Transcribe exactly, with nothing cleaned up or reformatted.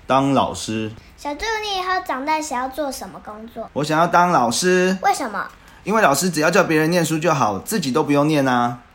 当老师。 小猪，你以后长大想要做什么工作？ 我想要当老师。 为什么？ 因为老师只要叫别人念书就好，自己都不用念啊。